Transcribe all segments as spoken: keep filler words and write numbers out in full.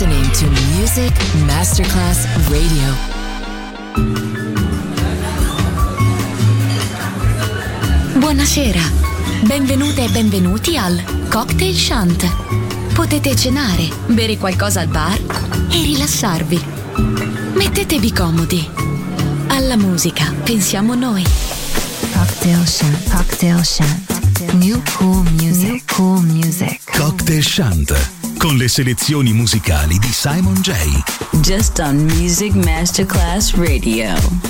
listening to Music Masterclass Radio. Buonasera, benvenute e benvenuti al Cocktail Shant. Potete cenare, bere qualcosa al bar e rilassarvi. Mettetevi comodi. Alla musica pensiamo noi. Cocktail Shant, Cocktail Shant. New cool music, New cool music. Cocktail Shant, con le selezioni musicali di Simon J. Just on Music Masterclass Radio.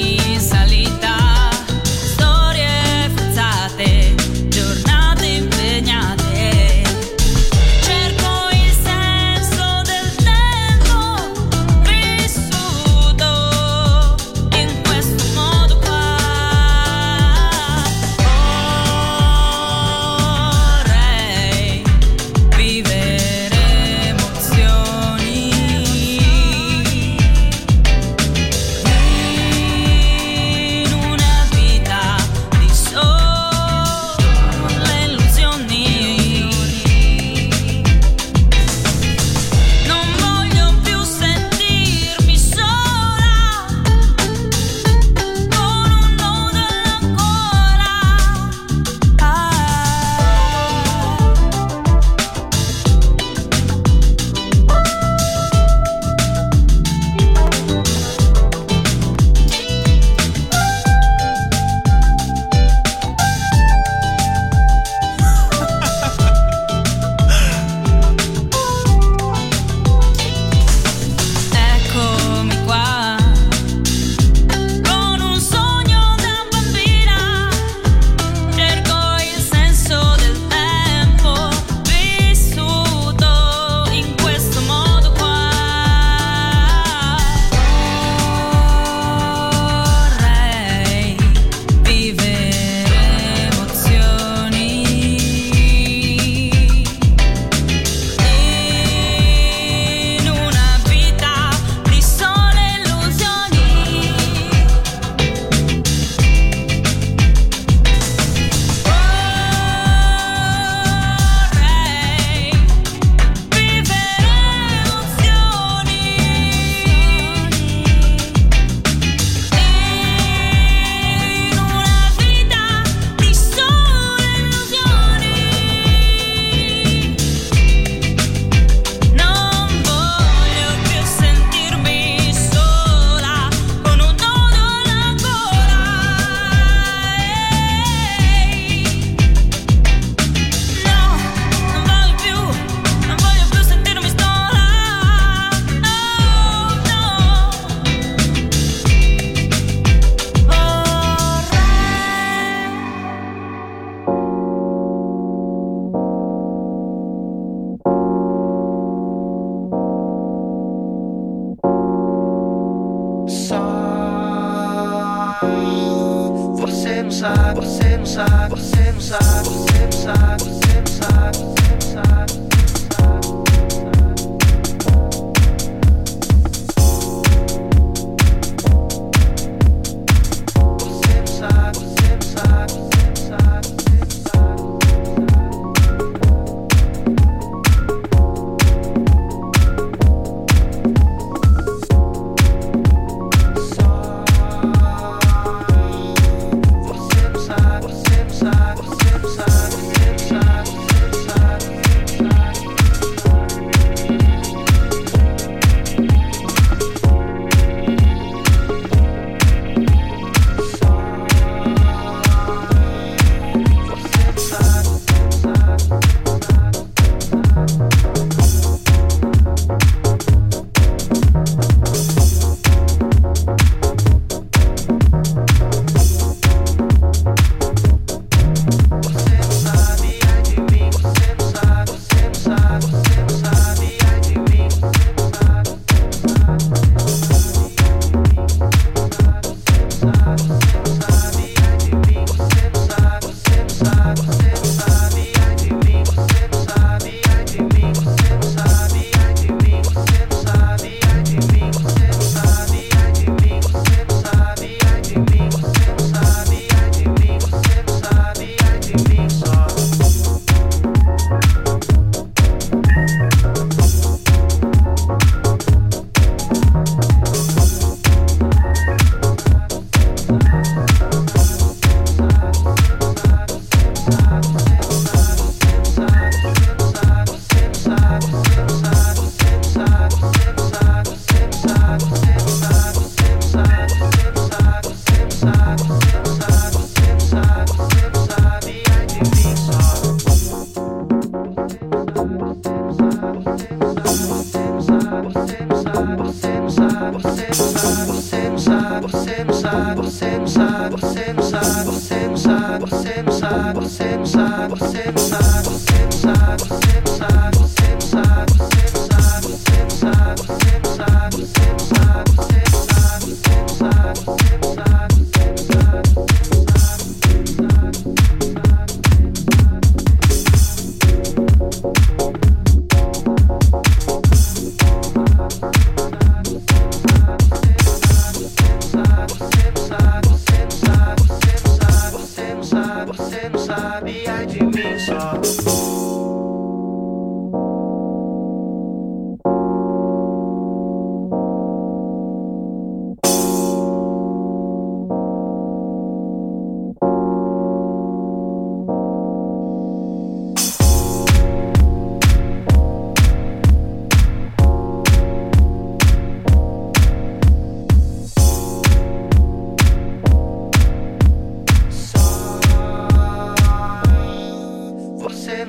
Giornate in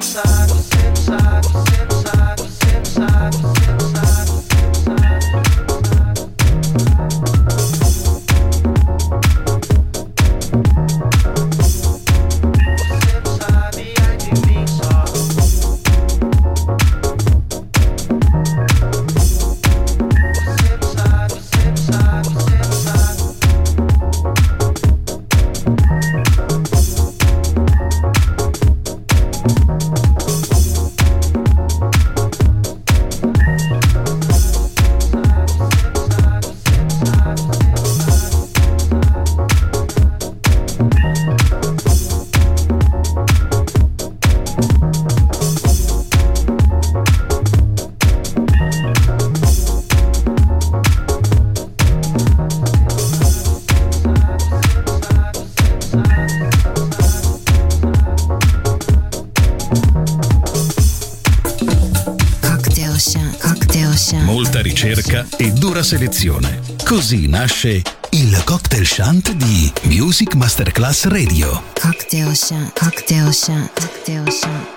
Molta ricerca e dura selezione. Così nasce il Cocktail Shant di Music Masterclass Radio. Cocktail Shant, Cocktail Shant, Cocktail Shant.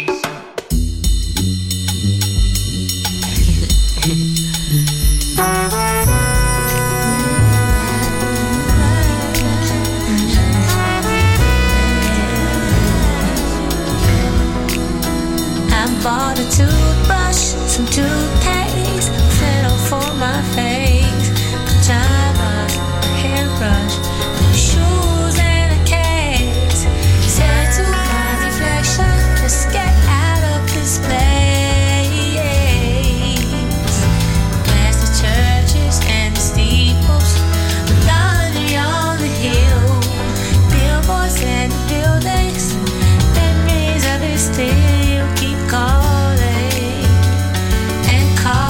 Bought a toothbrush, some toothpaste, settle for my face, pajamas, hairbrush, new shoes and a case. Said to my reflection, just get out of this place. Where's the churches and the steeples, the laundry on the hill, billboards and the buildings, memories of it still keep calling and calling.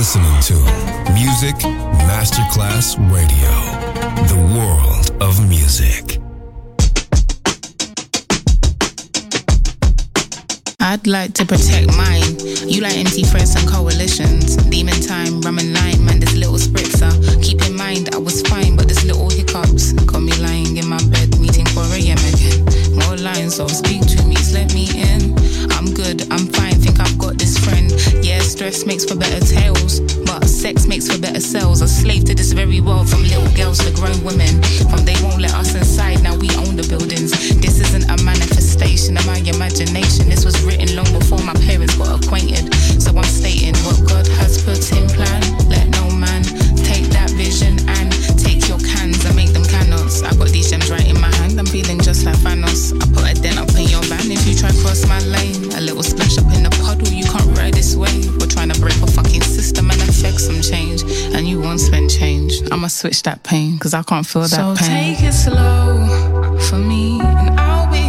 listening to Music Masterclass Radio, the world of music. I'd like to protect mine. You like empty threats and coalitions. Demon time, rum and lime, man, this little spritzer. Keep in mind, I was fine, but this little hiccups got me lying in my bed, meeting four a.m. again. More lines, so speak to me, let me in. I'm good, I'm fine, think I've got this friend. Yeah, stress makes for better tales, but sex makes for better cells. A slave to this very world, from little girls to grown women. From they won't let us inside, now we own the buildings. This isn't a manifestation of my imagination. This was written long before my parents got acquainted. So I'm stating what God has put in plan. Let no man take that vision and take your cans and make them cannons. I got these gems right in my hand, I'm feeling just like Thanos. I put a dent up in your van if you try cross my lane. A little splash up in the puddle, you can't ride this way. We're trying to break a fucking system and affect some change. And you won't spend change. I'ma switch that pain, cause I can't feel that so pain. So take it slow for me, and I'll be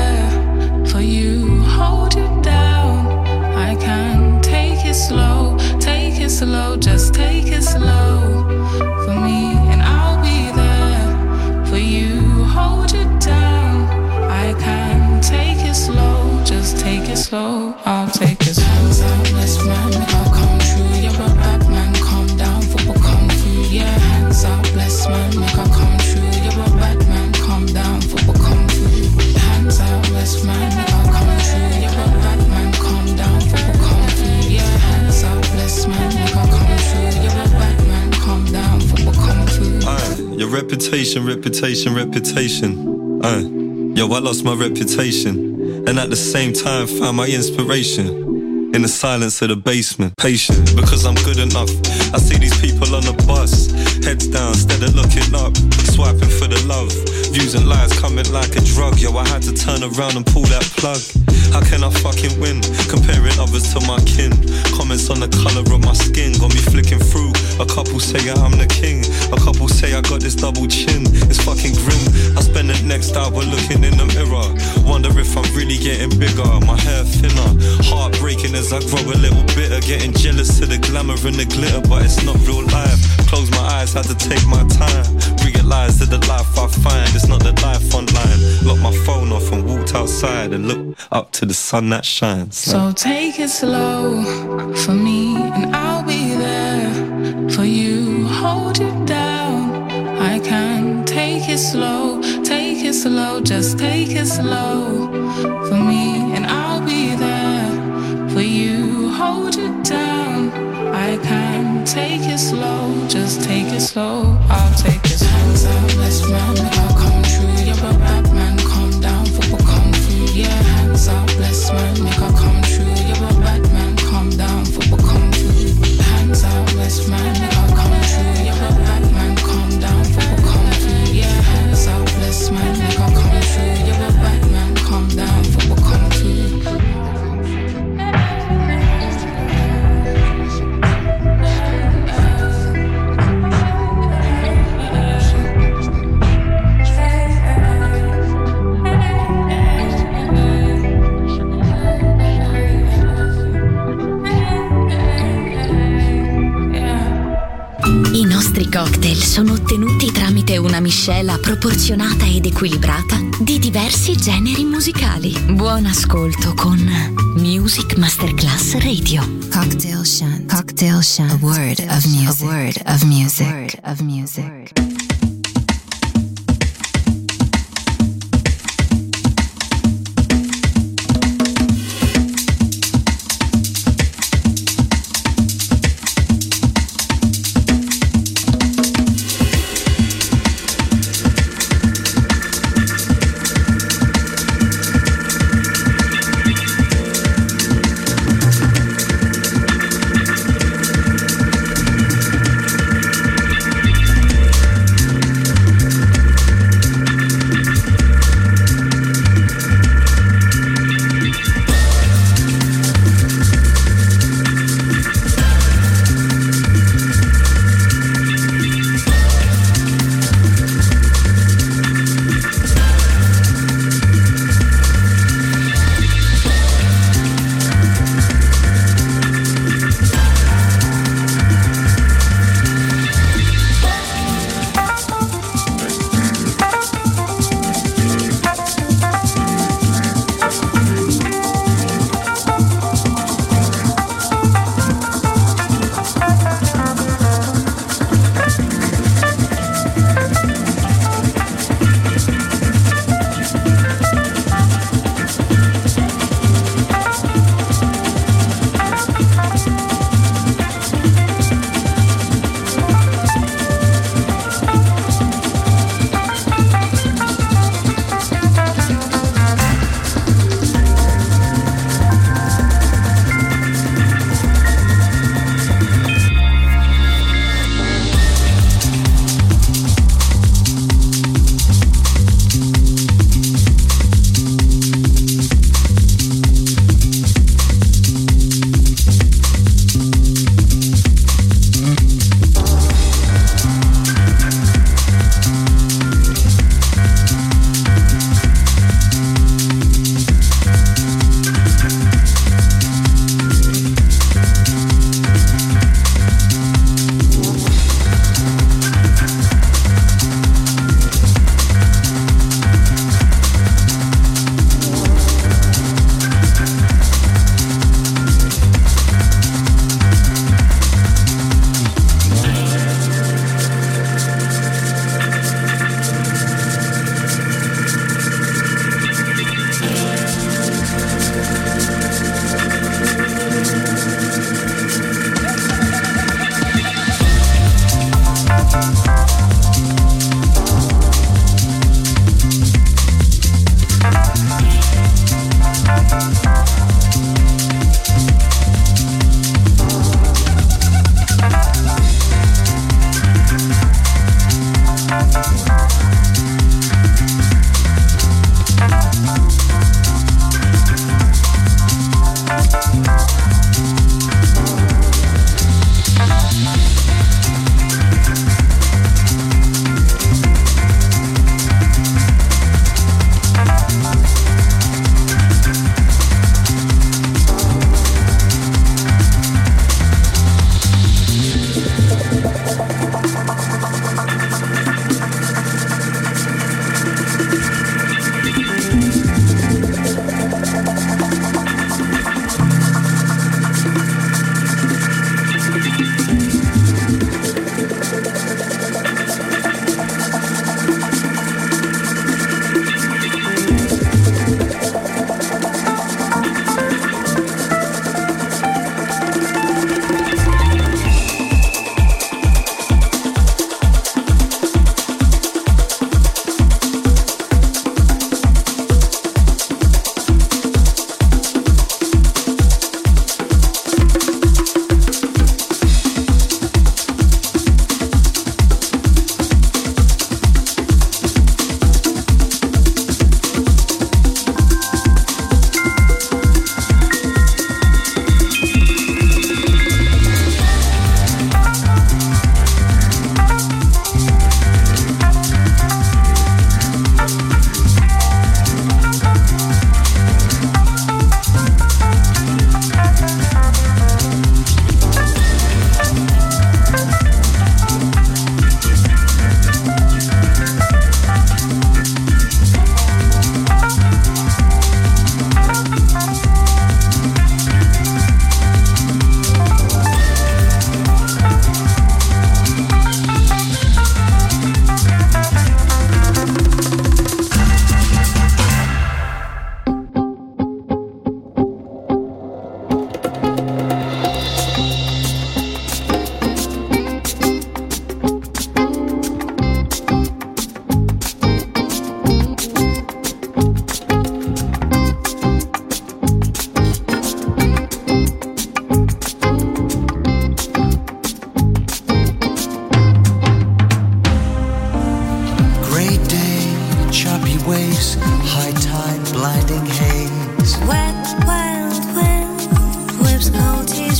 there for you. Hold you down, I can. Take it slow, take it slow, just take it slow for me, and I'll be there for you. Hold you down, I can. Take it slow, just take it slow, I'll take it slow. Hands out, let's man, I'll come true. You're a bad man, calm down, football kung fu. Yeah, hands out, bless man, make I come true. You're a bad man, calm down, football kung fu. Hands out, bless man, make I come true. You're a bad man, calm down, football kung fu. Yeah, hands out, bless man, make I come true. You're a bad man, calm down, football kung fu. Aye, your reputation, reputation, reputation. Aye, yo, I lost my reputation, and at the same time found my inspiration in the silence of the basement. Patient, because I'm good enough. I see these people on the bus, heads down, instead of looking up, swiping for the love. Views and lies coming like a drug. Yo, I had to turn around and pull that plug. How can I fucking win? Comparing others to my kin. Comments on the colour of my skin got me flicking through. A couple say I'm the king, a couple say I got this double chin. It's fucking grim. I spend the next hour looking in the mirror, wonder if I'm really getting bigger. My hair thinner, heartbreaking as I grow a little bitter. Getting jealous of the glamour and the glitter, but it's not real life. Close my eyes, had to take my time. Realize that the life I find is not the life online. Locked my phone off and walked outside and looked up to the sun that shines. So take it slow for me, and I'll be there for you. Hold you down, I can. Take it slow, take it slow, just take it slow for me, and I'll be there for you. Hold you down, I can. Take it slow, just take it slow, I'll take it slow. Hands out, let's man, I'll come true. You're a bad man, calm down, football kung fu. Yeah, hands out, bless man, make I come true. You're a bad man, calm down, football kung fu. Hands out, bless man, make I come true. You're a bad man, calm down, football kung fu. Yeah, hands out, bless man, make I come true. You're a bad man, calm down, football kung fu. I nostri cocktail sono ottenuti tramite una miscela proporzionata ed equilibrata di diversi generi musicali. Buon ascolto con Music Masterclass Radio. Cocktail Shant. Cocktail Shant. A word of music. A word of music. A word of music.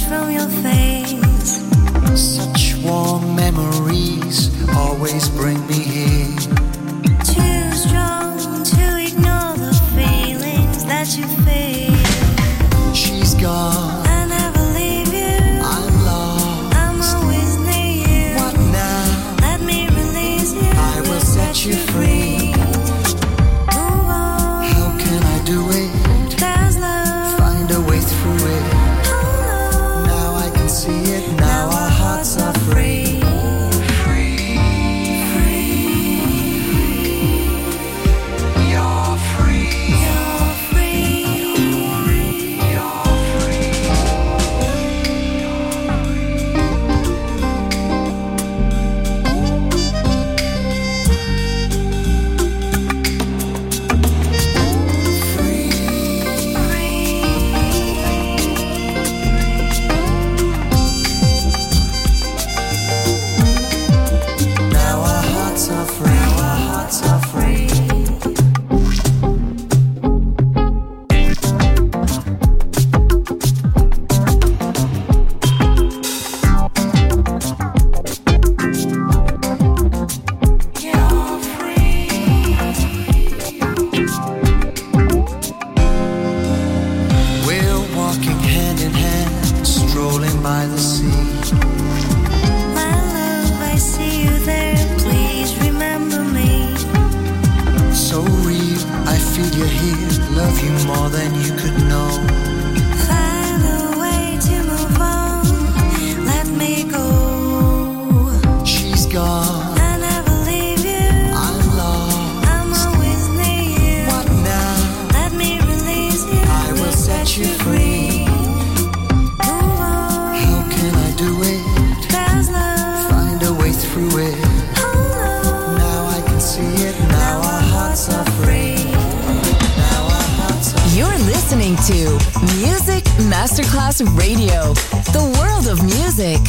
from your face. Such warm memories always bring me here. Too strong to ignore the feelings that you feel. She's gone. I never leave you. I'm lost. I'm always near you. What now? Let me release you. I will set you free. Move on. How can I do it? There's love. Find a way through it. Oh, no. Now I can see it. Now our hearts are free. Masterclass Radio, the world of music.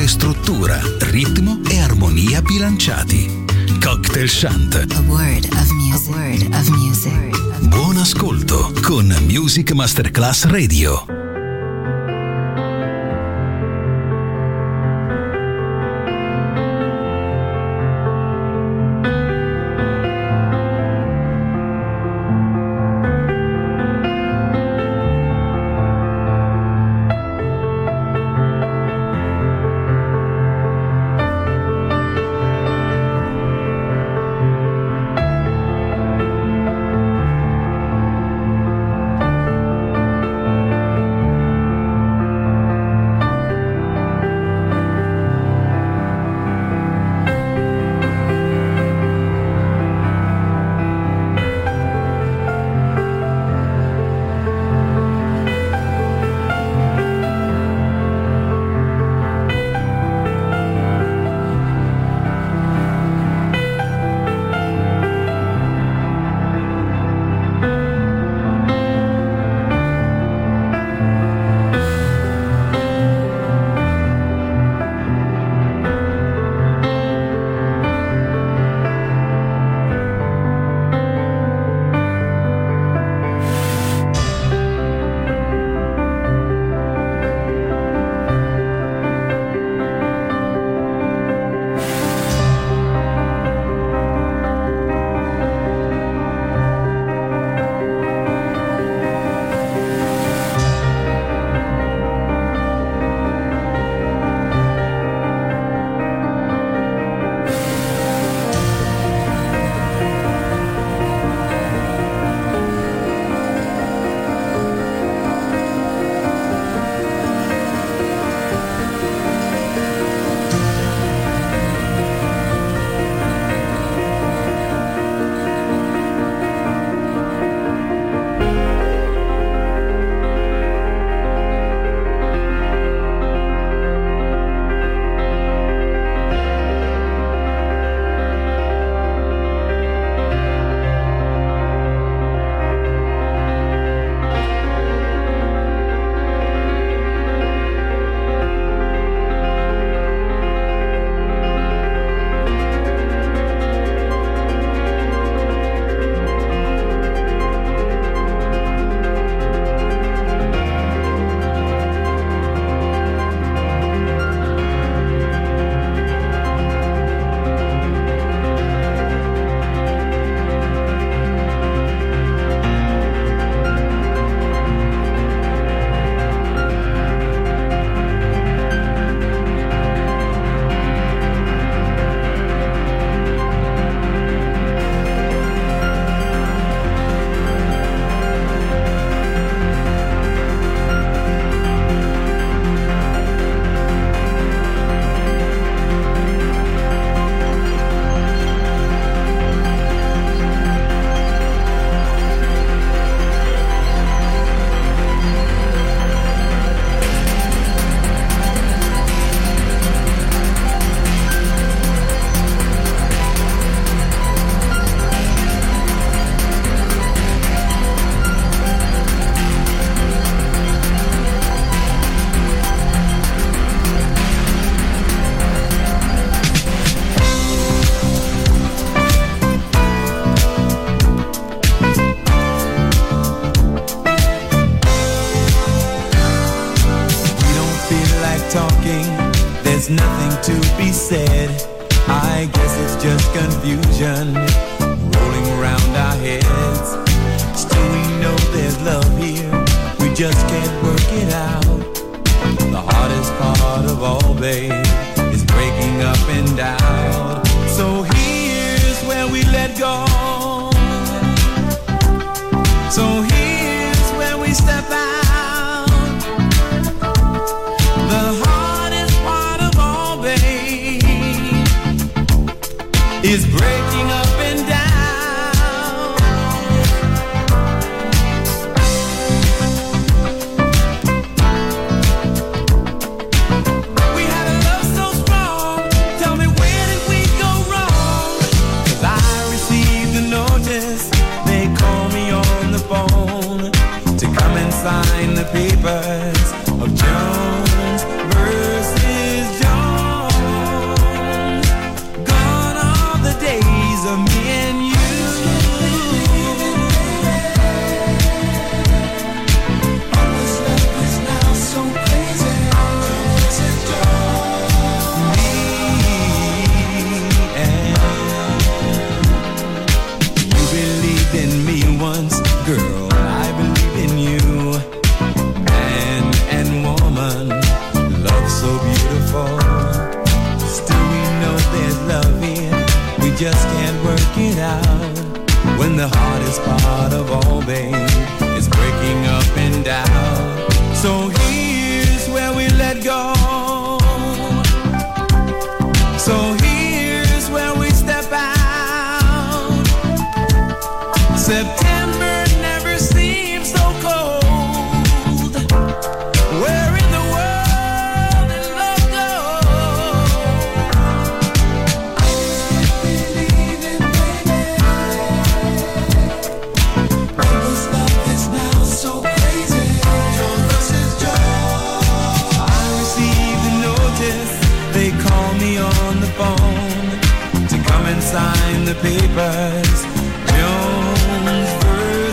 dove struttura, ritmo e armonia bilanciati. Cocktail Chant. A word of music. A word of music. Buon ascolto con Music Masterclass Radio. There's nothing to be said. I guess it's just confusion rolling around our heads. Still we know there's love here, we just can't work it out. The hardest part of all, babe, is breaking up and down. So here's where we let go. So here's where we step out. The hardest part of all, babe, is breaking up and down. We had a love so strong, tell me where did we go wrong? 'Cause I received a notice, they call me on the phone to come and sign the papers of Jones versus Jones. babe, is breaking up and down. So here's where we let go. So here's where we step out. September never seems so cold. Where in the world did love go? Believing, baby, people's love is now so crazy. Joy versus joy. I received a notice. They call me on the phone to come and sign the papers. Jones versus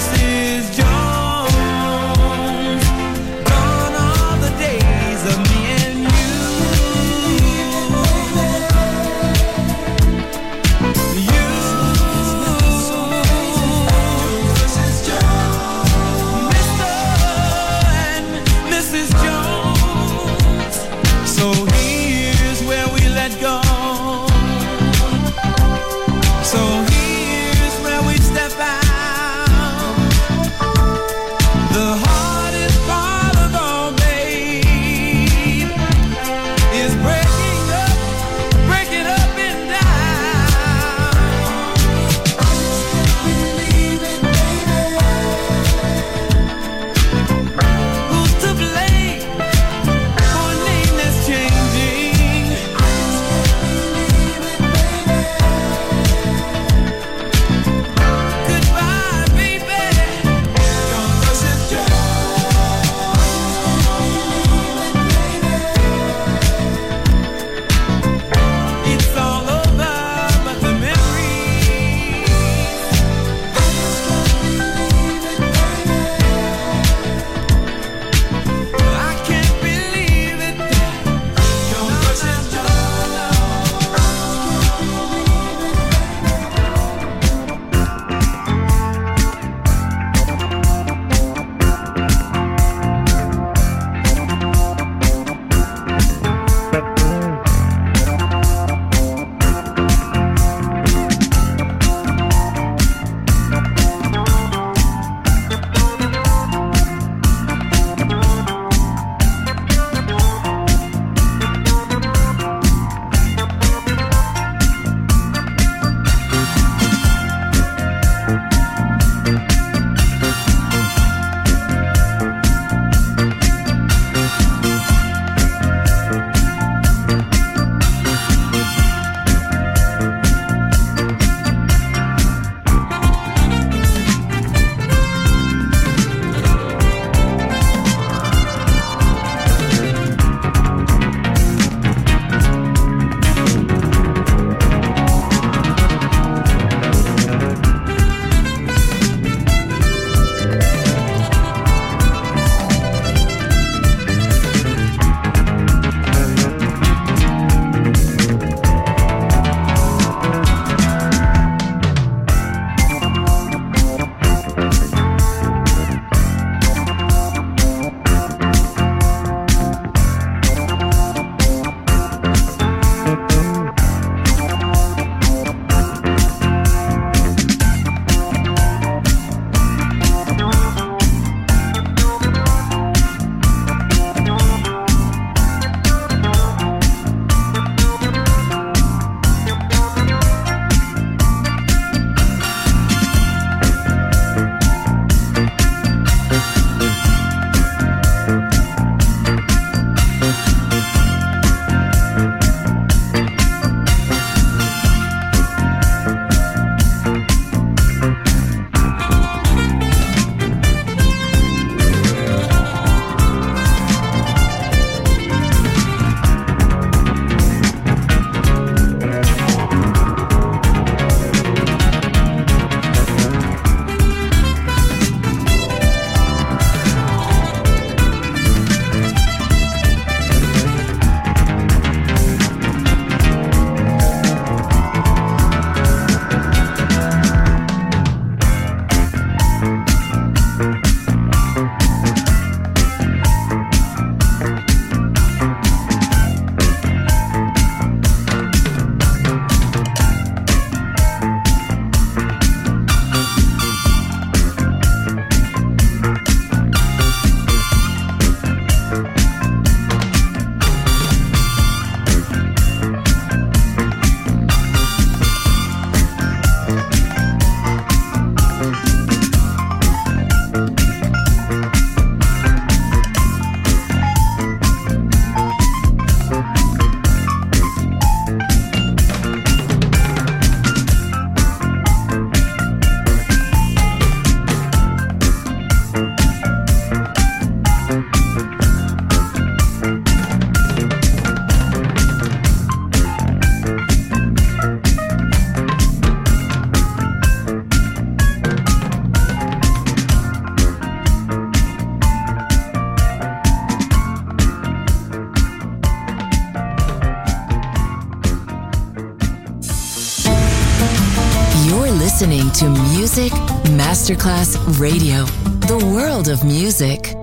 Music Masterclass Radio. The world of music.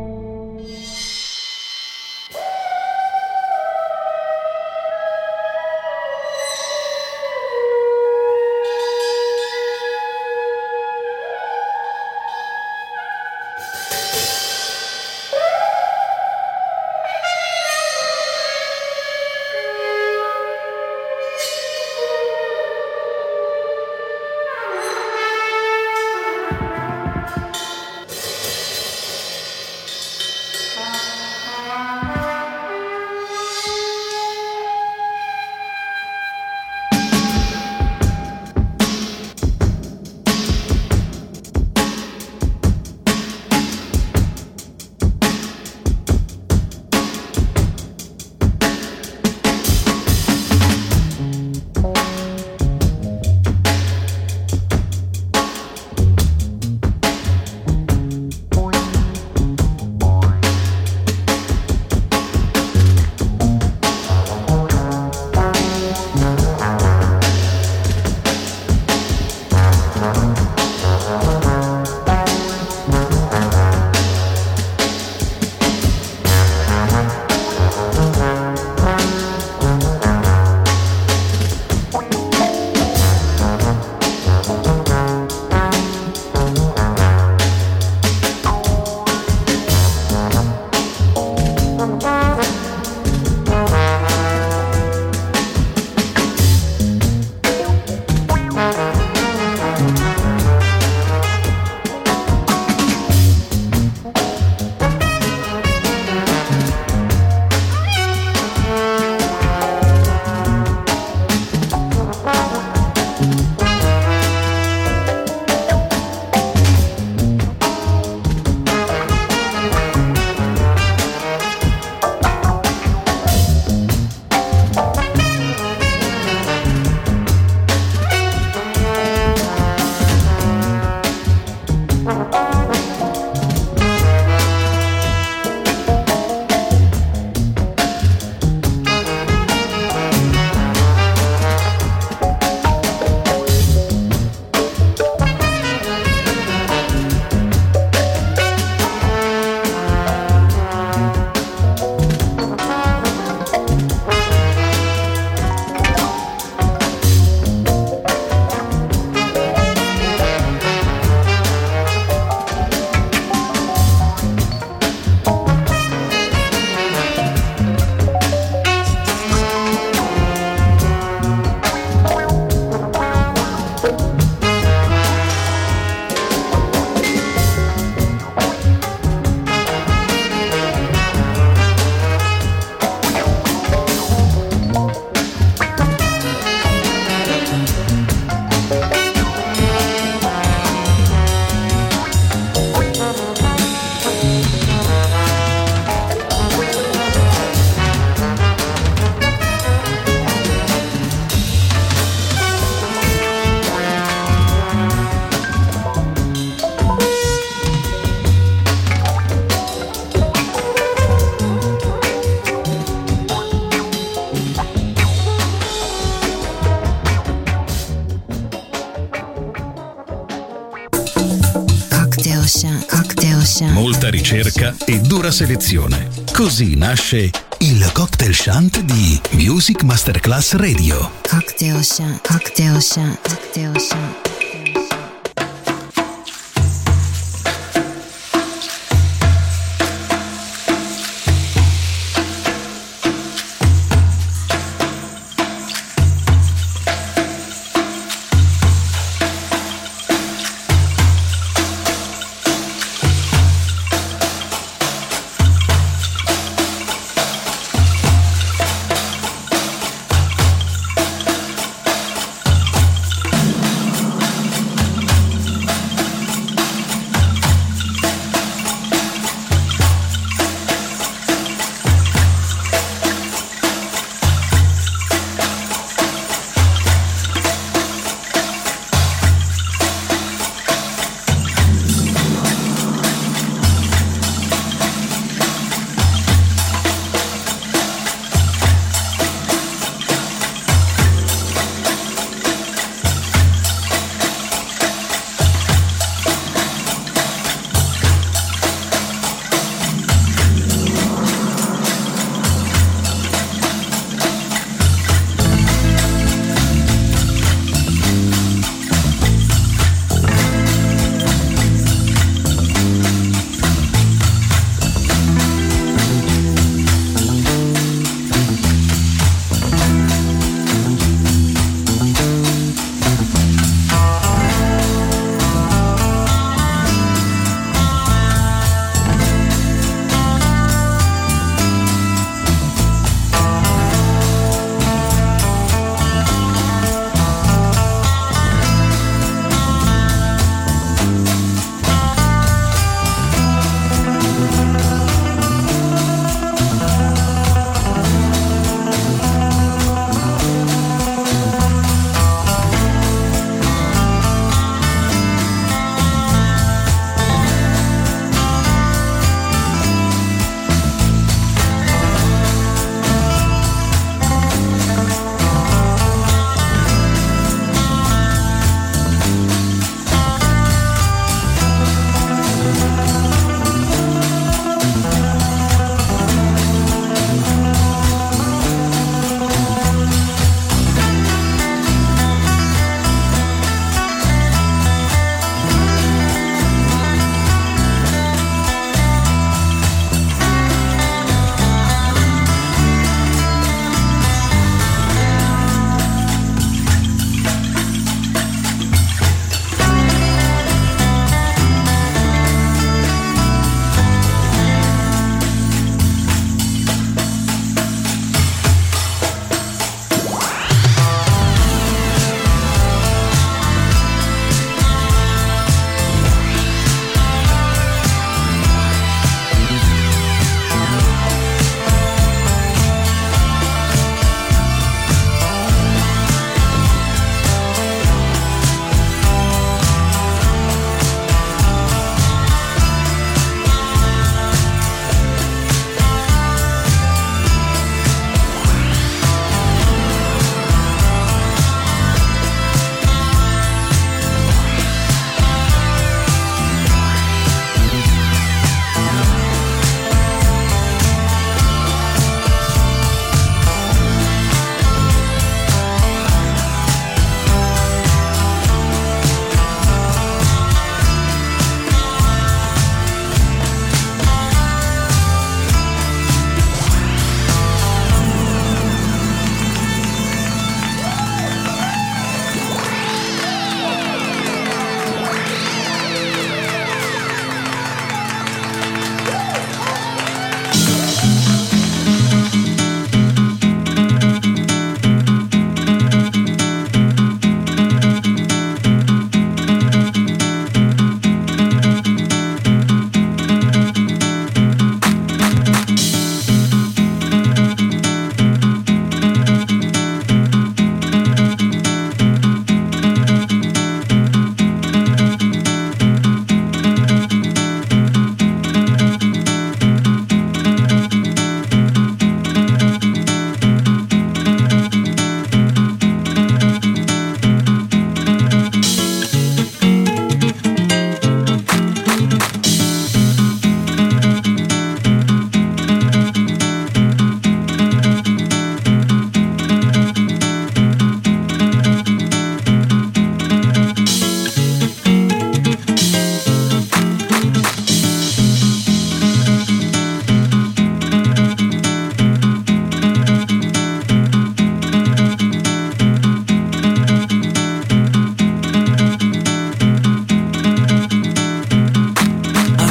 Molta ricerca e dura selezione. Così nasce il Cocktail Shant di Music Masterclass Radio. Cocktail Shant, Cocktail Shant, Cocktail Shant.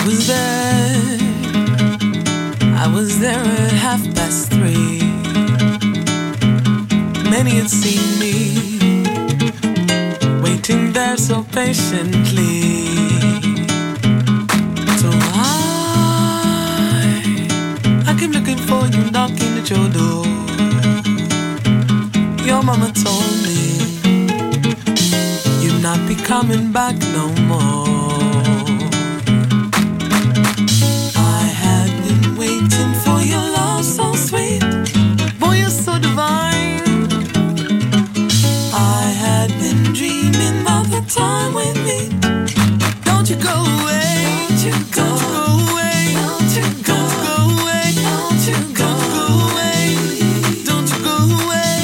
was there, I was there at half past three. Many had seen me waiting there so patiently. So I, I came looking for you, knocking at your door. Your mama told me you'd not be coming back no more. I had been waiting for your love so sweet. Boy, you're so divine. I had been dreaming of the time with me. Don't you go away. Don't you go away. Don't you go away. Don't you go away. Don't you go away.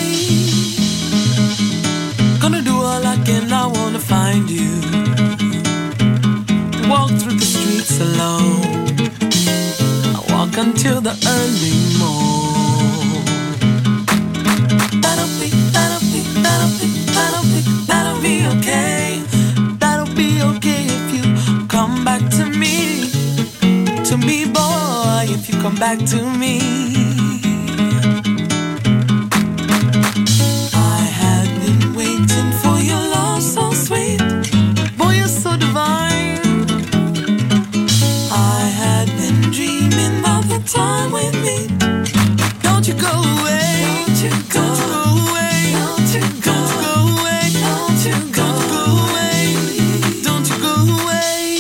Gonna do all I can, I wanna find you. Walk through the streets alone. I walk until the early morn. That'll be, that'll be, that'll be, that'll be, that'll be okay. That'll be okay if you come back to me. To me, boy, if you come back to me. I had been waiting for your love so sweet. Boy, you're so divine. I had been dreaming of the time with me. Don't you go away. Don't you go away. Don't you go away. Don't you go away. Don't you go away.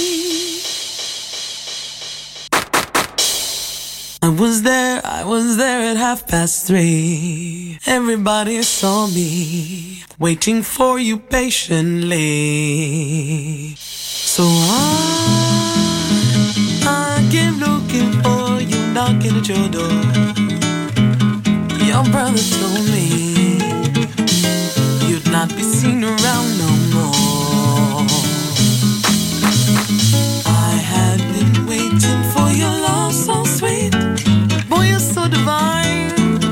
I was there, I was there at half past three. Everybody saw me waiting for you patiently. So I, I came looking for you, knocking at your door. Your brother told me you'd not be seen around no more. I had been waiting for your love so sweet. Boy, you're so divine.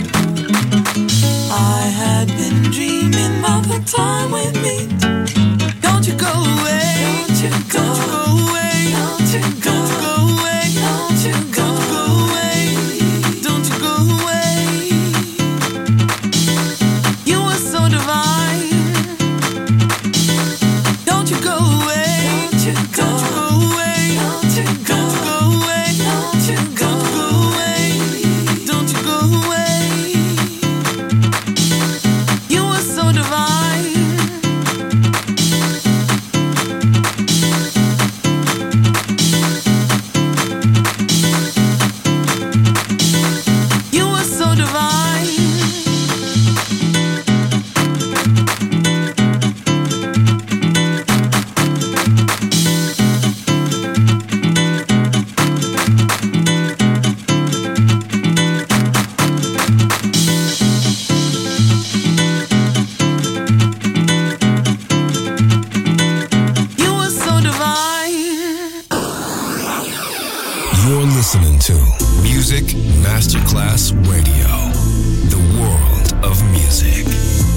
I had been dreaming of the time with me. Don't you go away. Don't you go away. Don't you go away. Don't you go away. Don't you go away. You were so divine. Don't you go away. Don't you go away. Don't you go away. Don't you go away. Don't you go away. You were so divine. You were so divine. You were so divine. You're listening to Music Masterclass Radio, the world of music.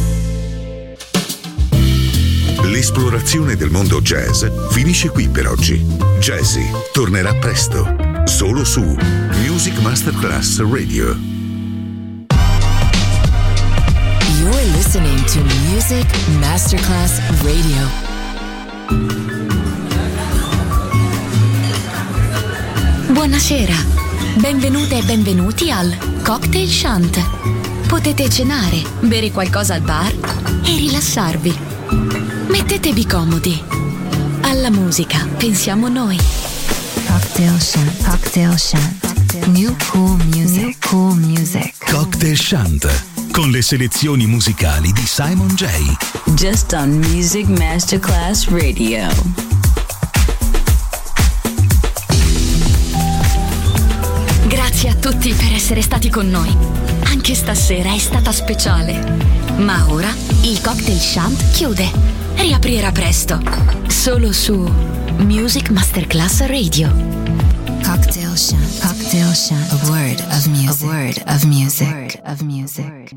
L'esplorazione del mondo jazz finisce qui per oggi. Jazzy tornerà presto, solo su Music Masterclass Radio. You're listening to Music Masterclass Radio. Buonasera, benvenute e benvenuti al Cocktail Shant. Potete cenare, bere qualcosa al bar e rilassarvi. Mettetevi comodi. Alla musica pensiamo noi. Cocktail Shant. Cocktail Shant. New cool music. New cool music. Cocktail Shant, con le selezioni musicali di Simon J. Just on Music Masterclass Radio. Grazie a tutti per essere stati con noi. Anche stasera è stata speciale. Ma ora il Cocktail Shant chiude. Riaprirà presto. Solo su Music Masterclass Radio. Cocktail Shant. Cocktail Shant. A word of music. A word of music. A word of music.